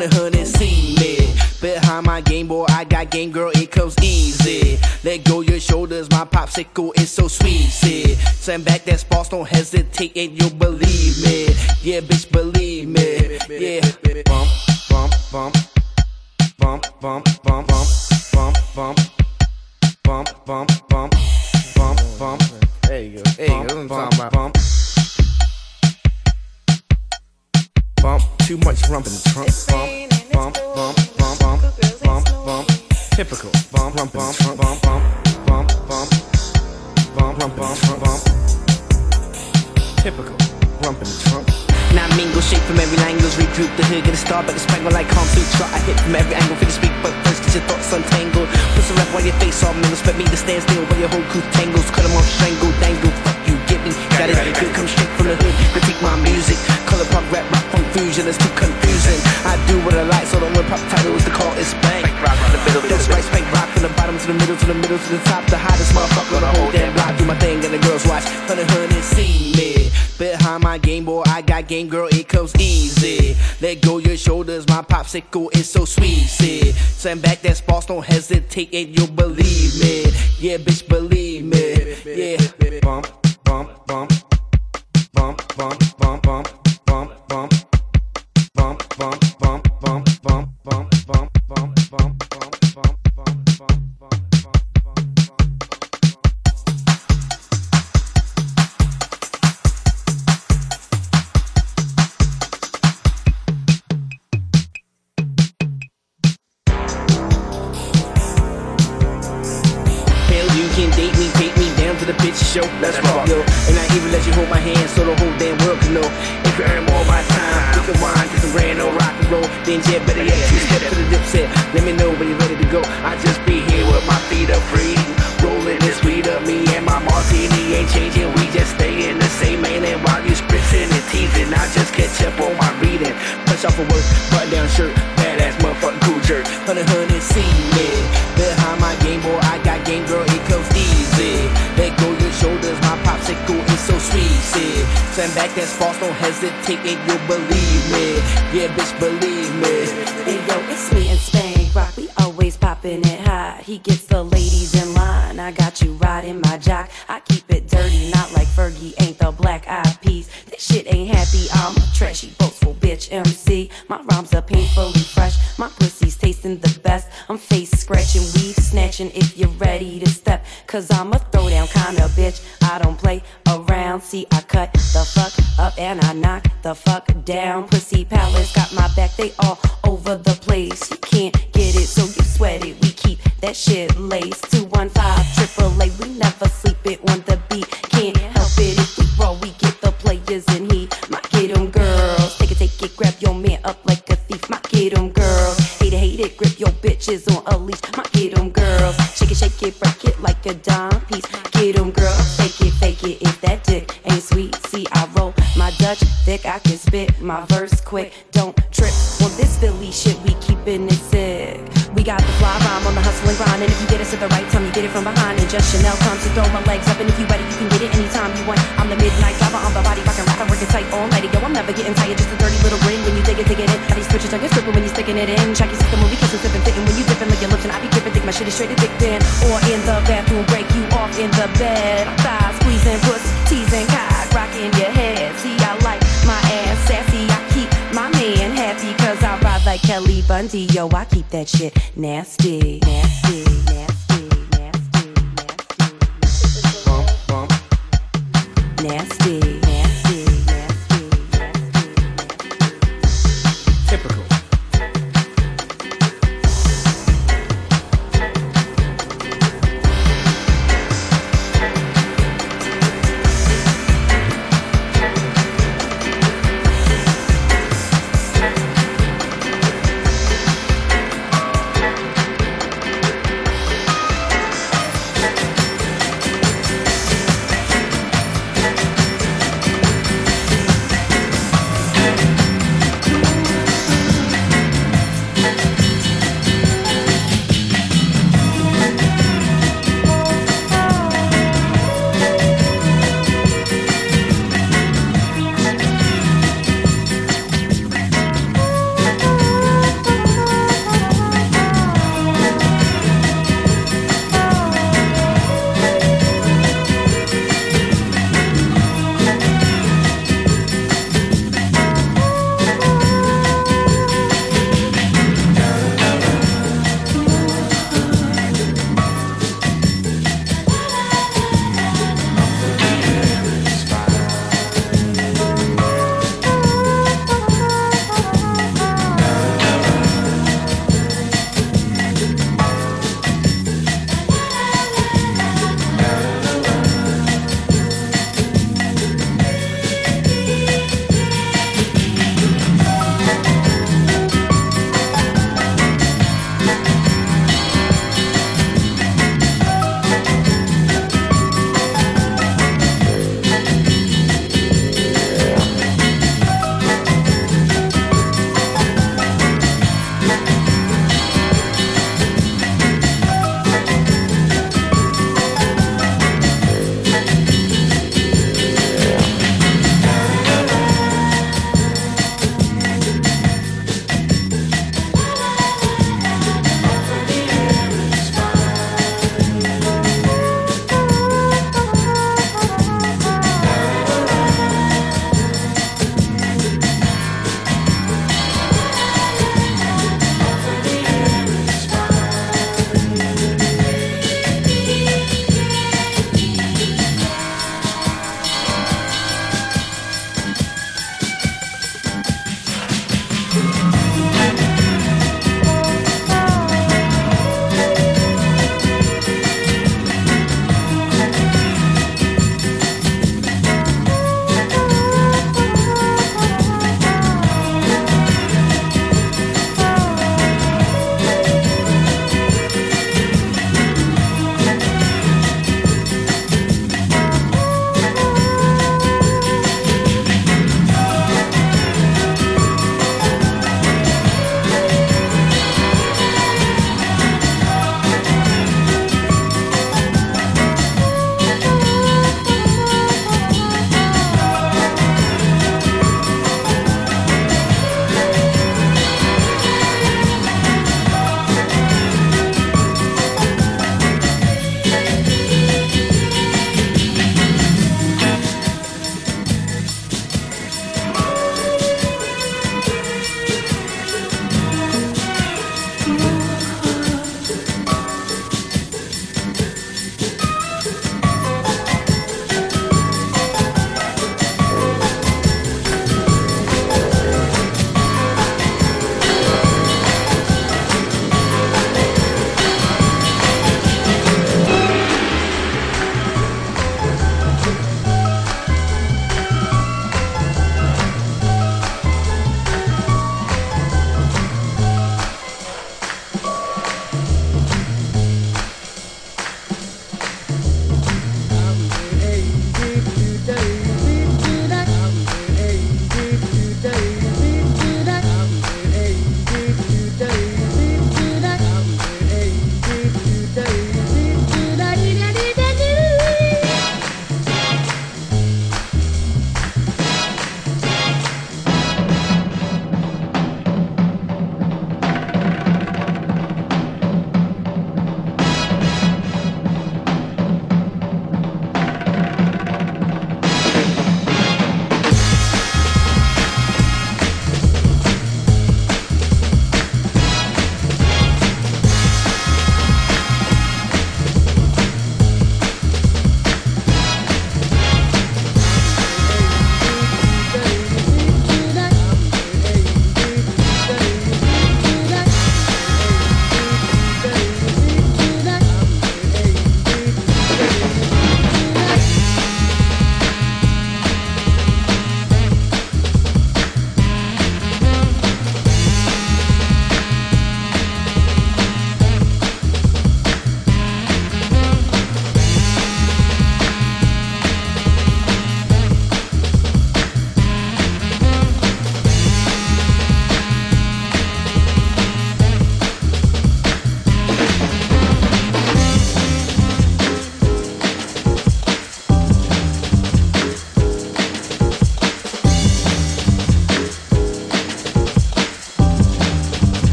Honey, see me. Behind my Game Boy, I got game, girl, it comes easy. Let go your shoulders, my popsicle is so sweet. See, send back that sparks, don't hesitate, and you'll believe me. Yeah, bitch, believe me. Yeah. Bump, bump, bump. Bump, bump, bump, bump, bump, bump. Bump, bump, bump, bump, bump. There you go. There you go. That's what I'm talking about. Bump. Bump, too much rump in the trunk. Bump, bump, bump, bump, bump, bump, bump. Typical. Bump, bump, bump, bump, bump, bump, bump, bump, bump, bump, bump. Typical. Rump in the trunk. Now mingle, shake from every angle, regroup the hood, get a star, but the spangle like calm sutra. I hit from every angle, finish speak, but first get your thoughts untangled. Put some rap while your face all mingles, expect me to stand still while your whole crew tangles. Cut them off, strangle, dangle, fuck you, get me. Got it good, come straight from the hood, critique my music. Color pop, rap, rock, confusion, it's too confusing. I do what I like, so the one pop title is the call, it's bang. That's right, spank rock from the bottom to the middle, to the middle, to the top. The hottest motherfucker on the whole damn block. Do my thing and the girls watch, honey, see me. Behind my Game Boy, I got game, girl, it comes easy. Let go your shoulders, my popsicle is so sweet. See, send back that sparks, don't hesitate, and you'll believe me. Yeah, bitch, believe me. Yeah. Bump, bump, bump, bump, bump, bump, bump, bump, bump, bump, bump, bump, bump, bump, bump, bump, bump, bump, bump. The bitch show, let's rock, yo. And I even let you hold my hand so the whole damn world can know. If you earn more by time, we can wind, get some grand old rock and roll. Then yeah, better yet, you step to the dip set. Let me know when you're ready to go. I just be here with my feet up free, rolling this weed up. Me and my martini ain't changing, we just stay in the same lane. And while you spritzing and teasing, I just catch up on my reading. Push off of work, button down shirt, badass motherfucking cool jerk. Honey, see me. Behind my Game Boy, I got game, girl, it comes easy. Let go your shoulders, my popsicle is so sweet. See, send back that sparks, don't hesitate, and you'll believe me. Yeah, bitch, believe me. Hey yo, it's me and Spank Rock, we always popping it high. He gets the ladies in line, I got you riding my jock. I keep it dirty, not like Fergie, ain't the Black Eyed Peas. This shit ain't happy, I'm a trashy, boastful bitch MC. My rhymes are painfully fresh, my pussy's tasting the best. I'm face scratching, weave snatching if you're ready to step. Cause I'm a throwdown kinda bitch, I don't play around. See, I cut the fuck up and I knock the fuck down. Pussy palace got my back, they all over the place. You can't get it, so you sweat it. We keep that shit laced. 215 AAA, we never sleep it on the beat. Can't help it if we roll, we get the players in heat. My get 'em girls, take it, grab your man up like a thief. My get 'em girls, hate it, grip your bitches on a leash. My get 'em girls, shake it, break it like a dime piece. Get 'em girls, fake it, if that dick ain't sweet. See, I roll my Dutch thick, I can spit my verse quick. Don't trip on this Philly shit, we keepin' it sick. We got the fly rhyme on the hustle and grind, and if you get us at the right time, you get it from behind. And just Chanel comes to throw my legs up, and if you ready, you can get it anytime you want. I'm the midnight driver, I'm the body rockin' rapper, working tight all night. Yo, I'm never getting tired, just a dirty little grin when you dig it in. How these switches on your stripping when you sticking it in. Check your system when we kissin', sippin', fittin' when you dippin' like your lips, and I be grippin', think my shit is straight to dick bin. Or in the bathroom, break you off in the bed. I'm thighs squeezing, puss, teasing, cock, rocking your head. See, I like my ass sassy, I keep my man happy, cause I ride like Kelly Bundy. Yo, I keep that shit nasty, nasty, nasty, nasty, nasty. Bump, bump. Nasty, nasty, nasty, nasty. Typical.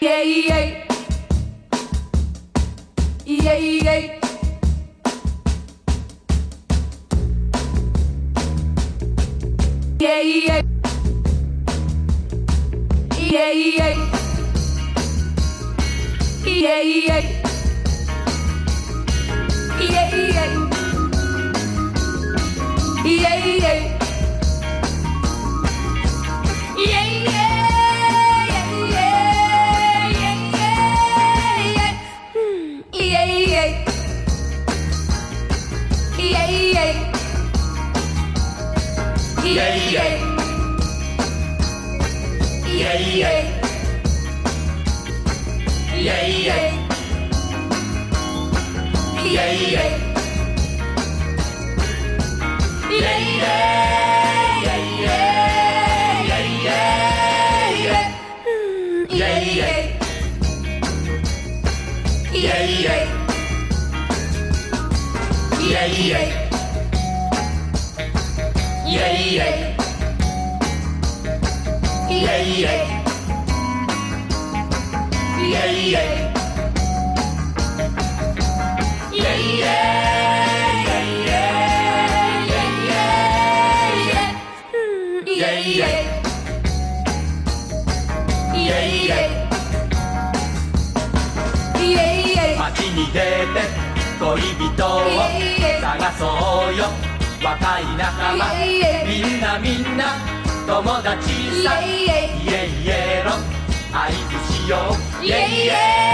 街に出て恋人を探そうよ若い仲間みんなみんな友達さイエイエロ合図しようイエイエイエイエイ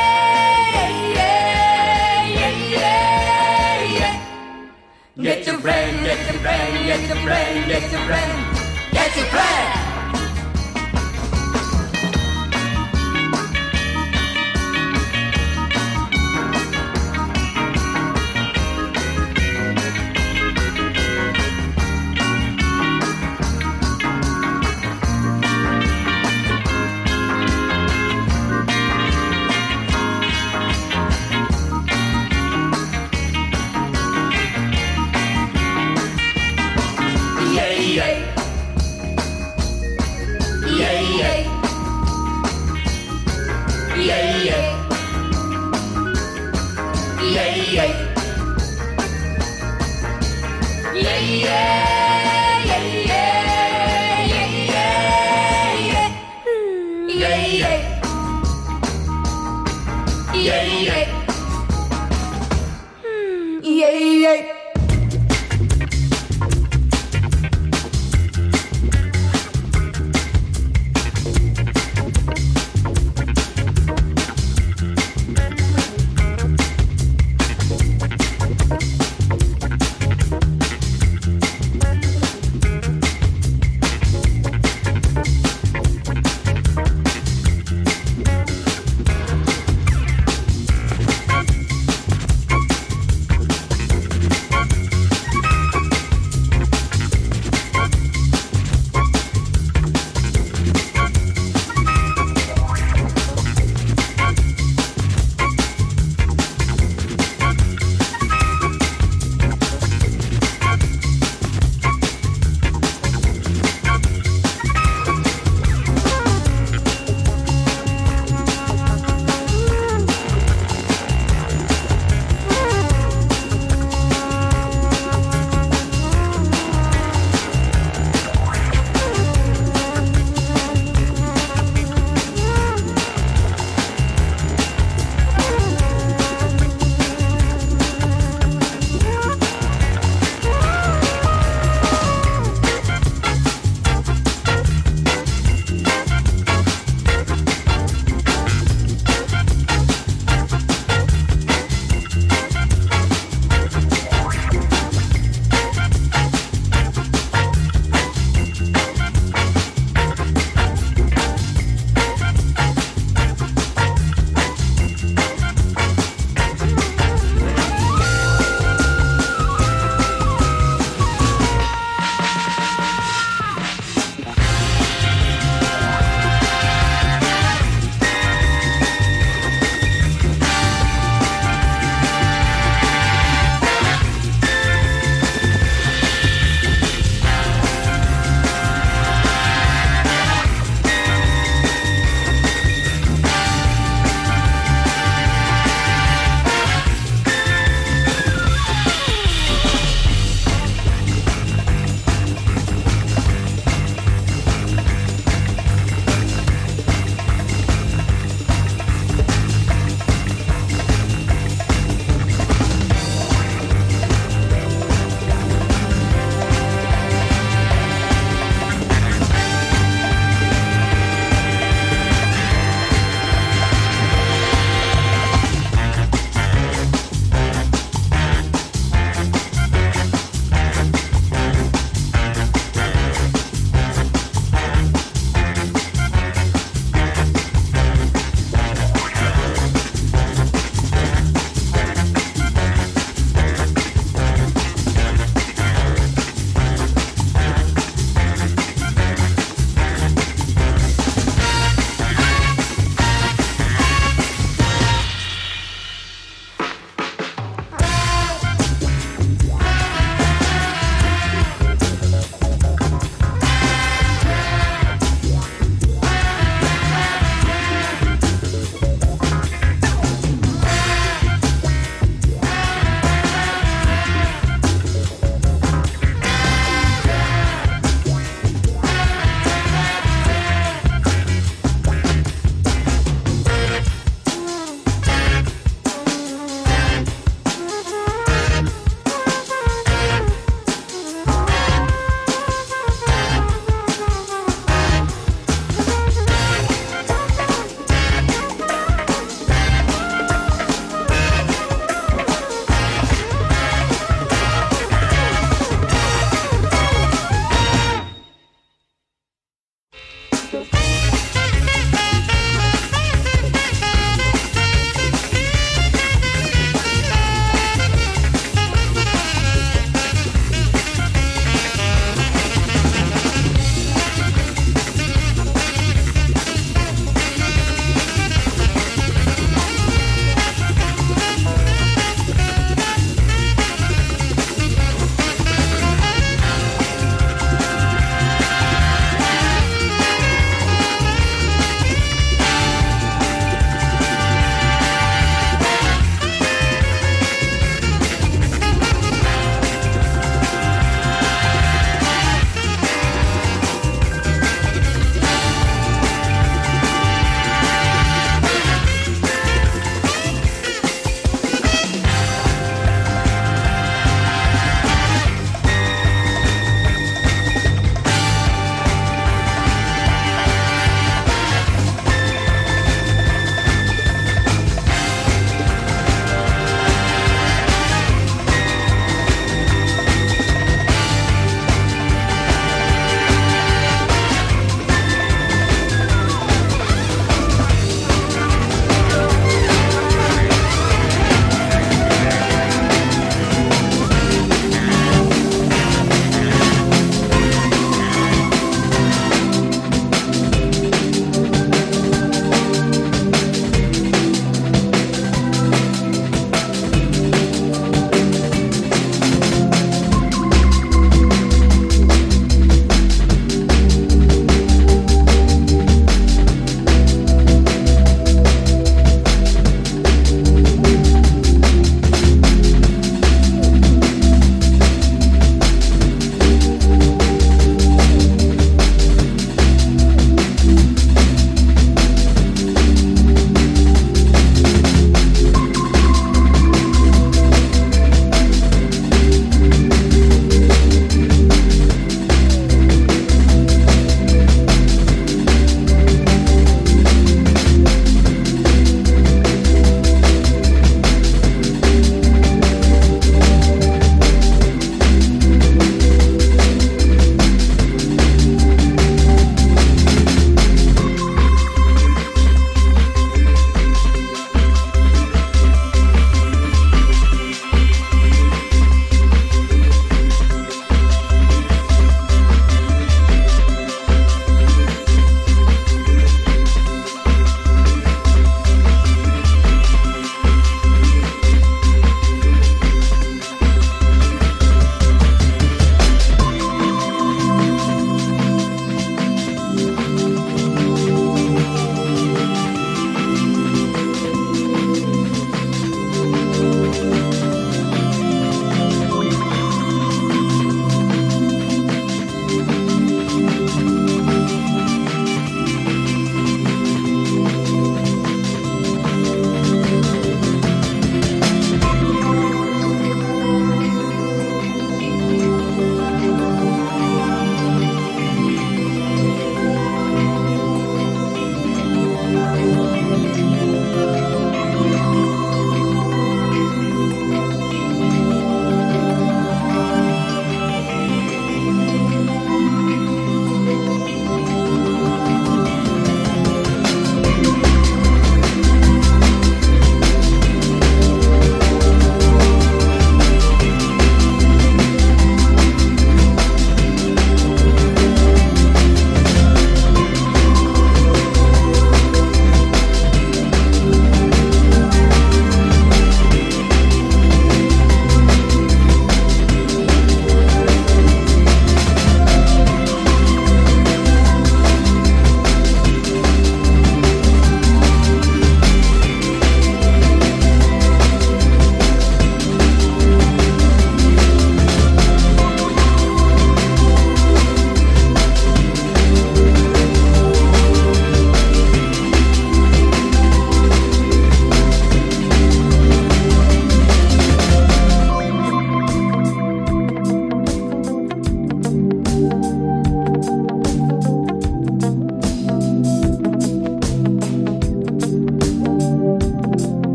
エイ Get your friend, get your friend, get your friend, get your friend, get your friend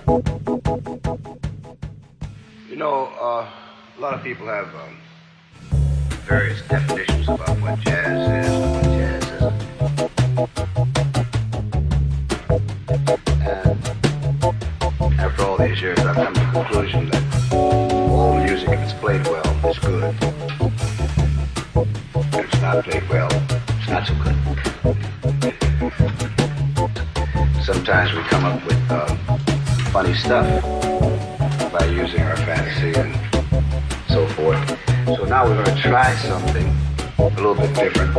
You know, a lot of people have various definitions about what jazz is and what jazz isn't. And after all these years, I've come to the conclusion that all music, if it's played well, is good. If it's not played well, it's not so good. Sometimes we come up with funny stuff by using our fantasy and so forth. So now we're going to try something a little bit different.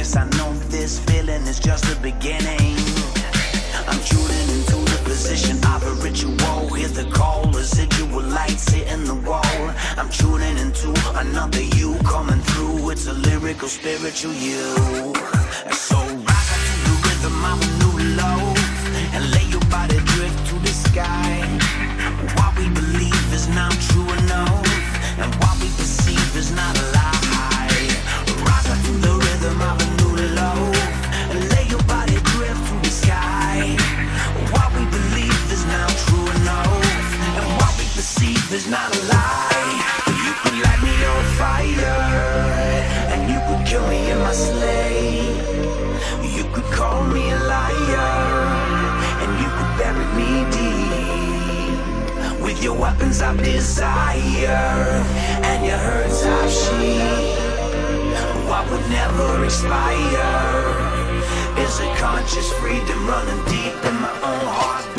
Yes, I know this feeling is just the beginning. I'm tuning into the position of a ritual. Hear the call, residual lights hitting the wall. I'm tuning into another you coming through. It's a lyrical, spiritual you. So rock out to the rhythm of a new love and lay your body drift to the sky. What we believe is not true enough, and what we perceive is not a lie. Rock out to the rhythm of a new love and lay your body drift to the sky. What we believe is not true enough, and what we perceive is not a lie. You could light me on fire, and you could kill me in my sleigh. You could call me a liar, and you could bury me deep with your weapons of desire and your hurts of sheep. What would never expire is a conscious freedom running deep in my own heartbeat.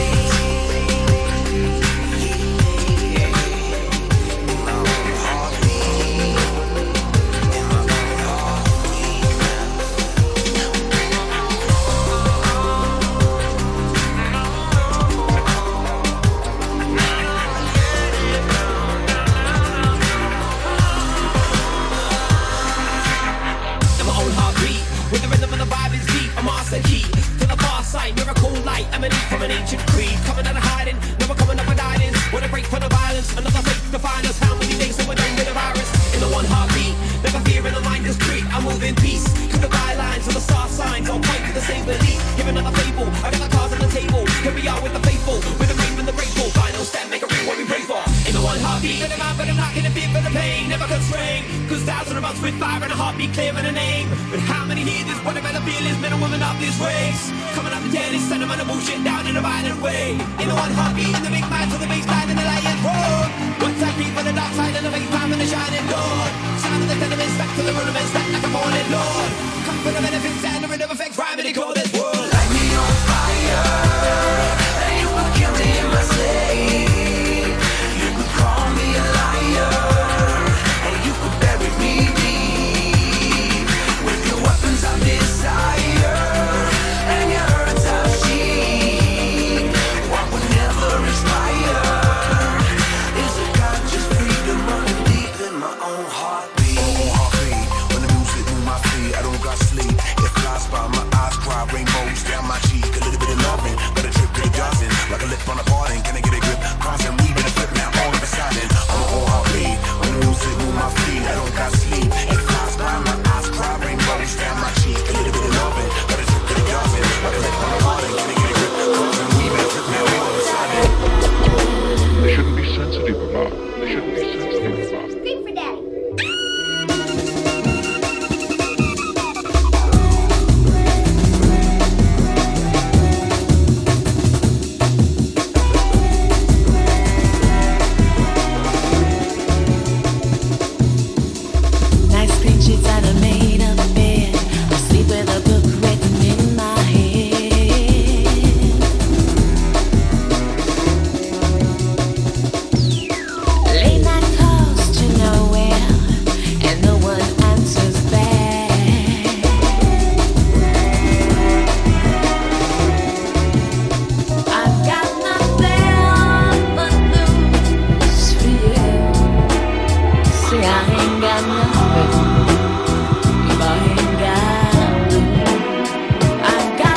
From an ancient creed, coming out of hiding, never coming up with guidance. When I break from the violence, another fate define us. How many days have we done with the virus? In the one heartbeat, never fear in the mind is creep. I move in peace, cause the guidelines and the star signs all point to the same belief. Give another fable, I got the cards on the table. Here we are with the faithful, with the brave and the grateful. Final step, make a ring what we pray for. In the one heartbeat, but I'm not gonna fear for the pain, never constrained. Cause thousands of us with fire and a heartbeat clearing a name. But how many hear this? What about the feelings, men and women of this race? Coming up the dead, it's sentiment and bullshit down in a violent way. In the one heartbeat, in the big man to the bass line and the lion roar. One time beat for the dark side and the bass time and the shining dawn. Sound of the tenements back to the rudiments, back like a fallen lord. Come for the benefits and the rhythm effects, rhyming and call this world. Light me on fire, and you could kill me in my sleigh. You could call me a liar, and you could bury me deep with your weapons of desire and your hurts of sheep. What would never expire is a conscious freedom running deep in my own heartbeat. When the music move my feet, I don't got sleep. It flies by my eyes, cry rainbows down my cheek. A little bit of loving, got a trip to the dozen, like a lip on a button. Can I get a grip? Constant weaving a flip now, all of a sudden. I'm on heartbeat. When the music move my feet, I don't got sleep. It flies by my eyes, cry rainbows down my cheek. A little bit of loving, got a trip to the dozen, like a lip on a button. Can I get a grip? Constant weaving a flip now, all of a sudden. They shouldn't be sensitive about. They shouldn't be sensitive about. Scream for daddy. Nice green sheets and a made up bed. I sleep with a book written in my head. Late night calls to nowhere, and no one answers back. I've got nothing but news for you. See, I ain't got nothing. If I ain't got you, I've got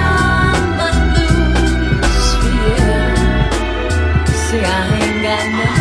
nothing but news for you. See, I ain't got nothing.